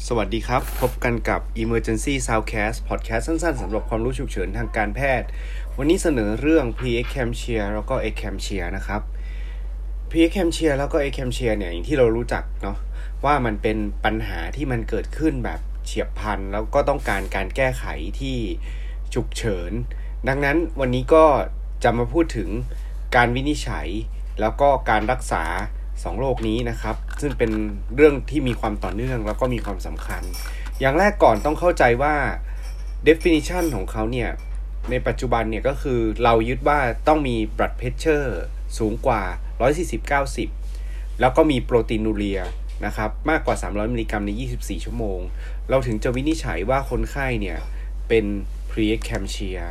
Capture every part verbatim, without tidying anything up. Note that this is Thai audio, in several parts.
สวัสดีครับพบกันกับ Emergency Soundcast Podcast สั้นๆสำหรับความรู้ฉุกเฉินทางการแพทย์วันนี้เสนอเรื่อง Preeclampsia แล้วก็ Eclampsia นะครับ Preeclampsia แล้วก็ Eclampsia เนี่ยอย่างที่เรารู้จักเนาะว่ามันเป็นปัญหาที่มันเกิดขึ้นแบบเฉียบพลันแล้วก็ต้องการการแก้ไขที่ฉุกเฉินดังนั้นวันนี้ก็จะมาพูดถึงการวินิจฉัยแล้วก็การรักษาสองโรคนี้นะครับซึ่งเป็นเรื่องที่มีความต่อเนื่องแล้วก็มีความสำคัญอย่างแรกก่อนต้องเข้าใจว่า definition ของเขาเนี่ยในปัจจุบันเนี่ยก็คือเรายึดว่าต้องมี blood pressure สูงกว่าหนึ่งร้อยสี่สิบ เก้าสิบแล้วก็มีโปรตีนูเรียนะครับมากกว่าสามร้อยมิลลิกรัมในยี่สิบสี่ชั่วโมงเราถึงจะวินิจฉัยว่าคนไข้เนี่ยเป็น preeclampsia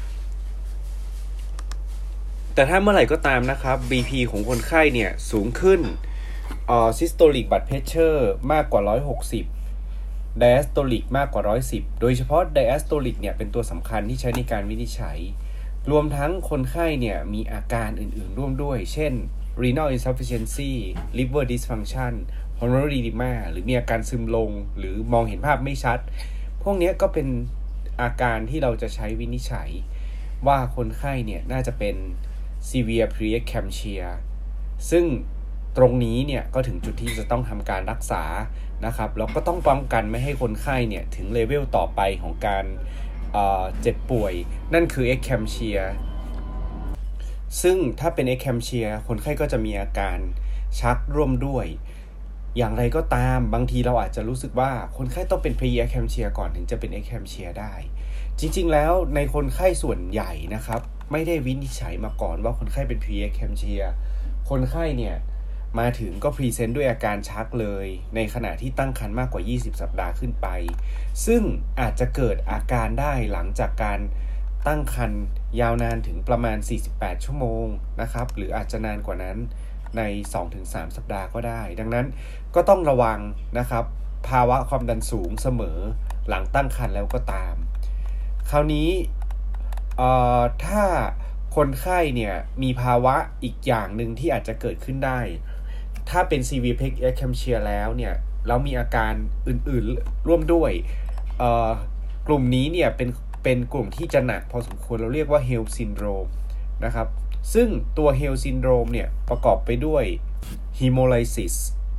แต่ถ้าเมื่อไหร่ก็ตามนะครับ บี พี ของคนไข้เนี่ยสูงขึ้นเอ่อ systolic blood pressure มากกว่าหนึ่งร้อยหกสิบ diastolic มากกว่าหนึ่งร้อยสิบโดยเฉพาะ diastolic เนี่ยเป็นตัวสำคัญที่ใช้ในการวินิจฉัยรวมทั้งคนไข้เนี่ยมีอาการอื่นๆร่วมด้วยเช่น renal insufficiency liver dysfunction pulmonary edema หรือมีอาการซึมลงหรือมองเห็นภาพไม่ชัดพวกนี้ก็เป็นอาการที่เราจะใช้วินิจฉัยว่าคนไข้เนี่ยน่าจะเป็นsevere preeclampsia ซึ่งตรงนี้เนี่ยก็ถึงจุดที่จะต้องทำการรักษานะครับแล้วก็ต้องป้องกันไม่ให้คนไข้เนี่ยถึงเลเวลต่อไปของการเอ่อเจ็บป่วยนั่นคือ eclampsia ซึ่งถ้าเป็น eclampsia คนไข้ก็จะมีอาการชักร่วมด้วยอย่างไรก็ตามบางทีเราอาจจะรู้สึกว่าคนไข้ต้องเป็น preeclampsia ก่อนถึงจะเป็น eclampsia ได้จริงๆแล้วในคนไข้ส่วนใหญ่นะครับไม่ได้วินิจฉัยมาก่อนว่าคนไข้เป็น preeclampsia คนไข้เนี่ยมาถึงก็พรีเซนต์ด้วยอาการชักเลยในขณะที่ตั้งครรภ์มากกว่ายี่สิบสัปดาห์ขึ้นไปซึ่งอาจจะเกิดอาการได้หลังจากการตั้งครรภ์ยาวนานถึงประมาณสี่สิบแปดชั่วโมงนะครับหรืออาจจะนานกว่านั้นใน สองถึงสาม สัปดาห์ก็ได้ดังนั้นก็ต้องระวังนะครับภาวะความดันสูงเสมอหลังตั้งครรภ์แล้วก็ตามคราวนี้เอ่อถ้าคนไข้เนี่ยมีภาวะอีกอย่างหนึ่งที่อาจจะเกิดขึ้นได้ถ้าเป็น severe preeclampsia แล้วเนี่ยแล้วมีอาการอื่นๆร่วมด้วยเอ่อกลุ่มนี้เนี่ยเป็นเป็นกลุ่มที่จะหนักพอสมควรเราเรียกว่า HELLP syndrome นะครับซึ่งตัว HELLP syndrome เนี่ยประกอบไปด้วย hemolysis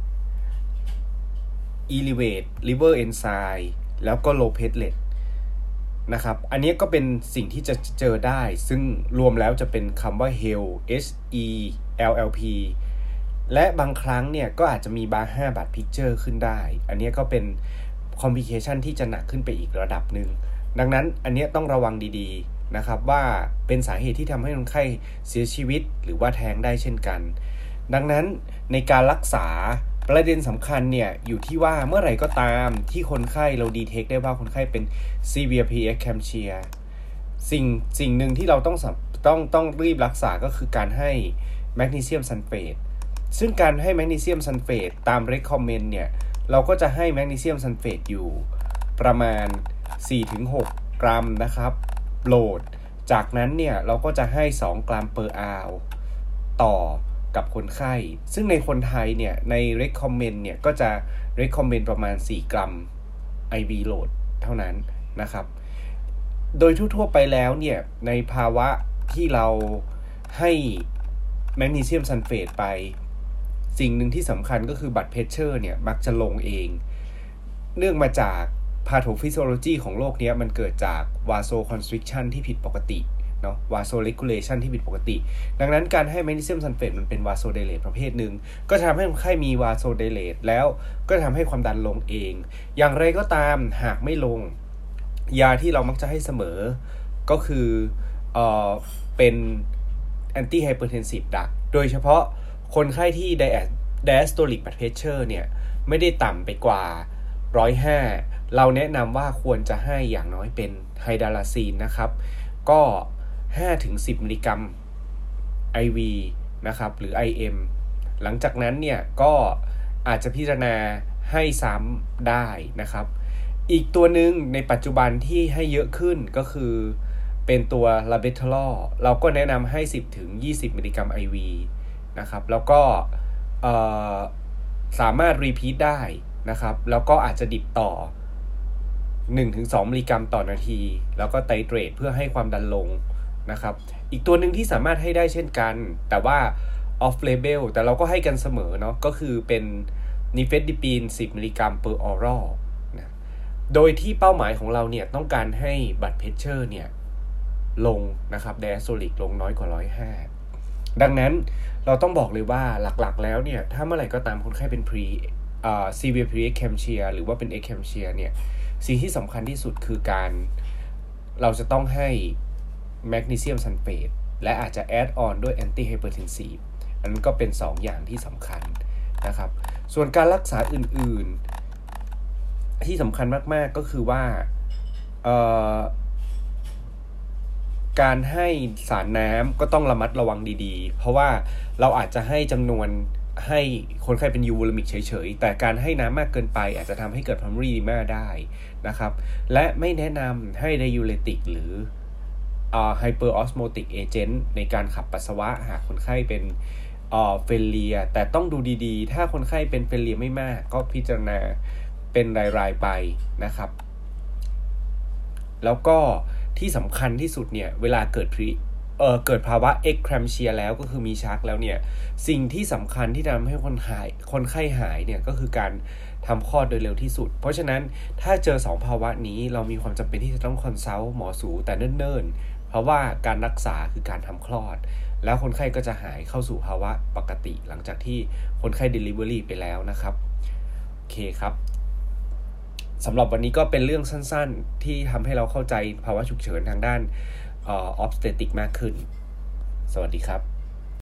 elevate liver enzyme แล้วก็ low plateletนะครับอันนี้ก็เป็นสิ่งที่จะเจอได้ซึ่งรวมแล้วจะเป็นคำว่า H E L P H E L L P และบางครั้งเนี่ยก็อาจจะมีบาร์ห้า blood picture ขึ้นได้อันนี้ก็เป็น complication ที่จะหนักขึ้นไปอีกระดับหนึ่งดังนั้นอันนี้ต้องระวังดีๆนะครับว่าเป็นสาเหตุที่ทำให้คนไข้เสียชีวิตหรือว่าแท้งได้เช่นกันดังนั้นในการรักษาประเด็นสำคัญเนี่ยอยู่ที่ว่าเมื่อไหร่ก็ตามที่คนไข้เราดีเทคได้ว่าคนไข้เป็น severe preeclampsia สิ่งสิ่งหนึ่งที่เราต้องต้องต้องรีบรักษาก็คือการให้แมกนีเซียมซัลเฟตซึ่งการให้แมกนีเซียมซัลเฟตตาม recommend เนี่ยเราก็จะให้แมกนีเซียมซัลเฟตอยู่ประมาณ สี่ถึงหก กรัมนะครับโหลดจากนั้นเนี่ยเราก็จะให้สองกรัม per hour ต่อกับคนไข้ซึ่งในคนไทยเนี่ยใน recommend เนี่ยก็จะ recommend ประมาณสี่กรัม ไอ วี load เท่านั้นนะครับโดยทั่วๆไปแล้วเนี่ยในภาวะที่เราให้แมกนีเซียมซัลเฟตไปสิ่งหนึ่งที่สำคัญก็คือ blood pressure เนี่ยมักจะลงเองเนื่องมาจาก pathophysiology ของโรคนี้มันเกิดจาก vasoconstriction ที่ผิดปกติเนาะ vasoregulation ที่ผิดปกติดังนั้นการให้แมกนีเซียมซัลเฟตมันเป็น vasodilate ประเภทหนึ่งก็จะทำให้คนไข้มี vasodilate แล้วก็จะทำให้ความดันลงเองอย่างไรก็ตามหากไม่ลงยาที่เรามักจะให้เสมอก็คือเอ่อเป็น antihypertensive drug โดยเฉพาะคนไข้ที่ diastolic blood pressure เนี่ยไม่ได้ต่ำไปกว่าหนึ่งร้อยห้าเราแนะนำว่าควรจะให้อย่างน้อยเป็นไฮดาลาซีนนะครับก็ห้าถึงสิบ มิลลิกรัม ไอ วี นะครับหรือ ไอ เอ็ม หลังจากนั้นเนี่ยก็อาจจะพิจารณาให้ซ้ำได้นะครับอีกตัวหนึ่งในปัจจุบันที่ให้เยอะขึ้นก็คือเป็นตัวลาเบทอลอเราก็แนะนำให้สิบถึงยี่สิบ มิลลิกรัม ไอ วี นะครับแล้วก็สามารถรีพีทได้นะครับแล้วก็อาจจะดิบต่อ หนึ่งถึงสอง มิลลิกรัมต่อนาทีแล้วก็ไตรเตรตเพื่อให้ความดันลงนะครับอีกตัวหนึ่งที่สามารถให้ได้เช่นกันแต่ว่า off label แต่เราก็ให้กันเสมอเนาะก็คือเป็นนิเฟสดิปีนสิบมิลลิกรัม per oral นะโดยที่เป้าหมายของเราเนี่ยต้องการให้บัดเพชเชอร์เนี่ยลงนะครับ diastolic ลงน้อยกว่าหนึ่งร้อยห้าดังนั้นเราต้องบอกเลยว่าหลักๆแล้วเนี่ยถ้าเมื่อไหร่ก็ตามคนไข้เป็น pre อ่า severe pre-eclampsia หรือว่าเป็น eclampsia เนี่ยสิ่งที่สำคัญที่สุดคือการเราจะต้องให้แมกนีเซียมซัลเฟตและอาจจะแอดออนด้วยแอนตี้ไฮเปอร์เทนซีฟอันนั้นก็เป็นสอง อย่างที่สำคัญนะครับส่วนการรักษาอื่นๆที่สำคัญมากๆก็คือว่าการให้สารน้ำก็ต้องระมัดระวังดีๆเพราะว่าเราอาจจะให้จำนวนให้คนไข้เป็นยูโวลามิกเฉยๆแต่การให้น้ำมากเกินไปอาจจะทำให้เกิด pulmonary edema ได้นะครับและไม่แนะนำให้ diuretic หรืออ่า hyperosmotic agent ในการขับปัสสาวะหากคนไข้เป็นอ่าเฟลเลียแต่ต้องดูดีๆถ้าคนไข้เป็นเฟลเลียไม่มากก็พิจารณาเป็นรายๆไปนะครับแล้วก็ที่สำคัญที่สุดเนี่ยเวลาเกิดพรีเอ่อเกิดภาวะ eclampsia แล้วก็คือมีชักแล้วเนี่ยสิ่งที่สำคัญที่ทำให้คนหายคนไข้หายเนี่ยก็คือการทำคลอดโดยเร็วที่สุดเพราะฉะนั้นถ้าเจอสองภาวะนี้เรามีความจำเป็นที่จะต้องคอนซัลท์หมอสูแต่เนิ่นๆเพราะว่าการรักษาคือการทำคลอดแล้วคนไข้ก็จะหายเข้าสู่ภาวะปกติหลังจากที่คนไข้ delivery ไปแล้วนะครับโอเคครับสำหรับวันนี้ก็เป็นเรื่องสั้นๆที่ทำให้เราเข้าใจภาวะฉุกเฉินทางด้านเอ่อ obstetric มากขึ้นสวัสดีครับ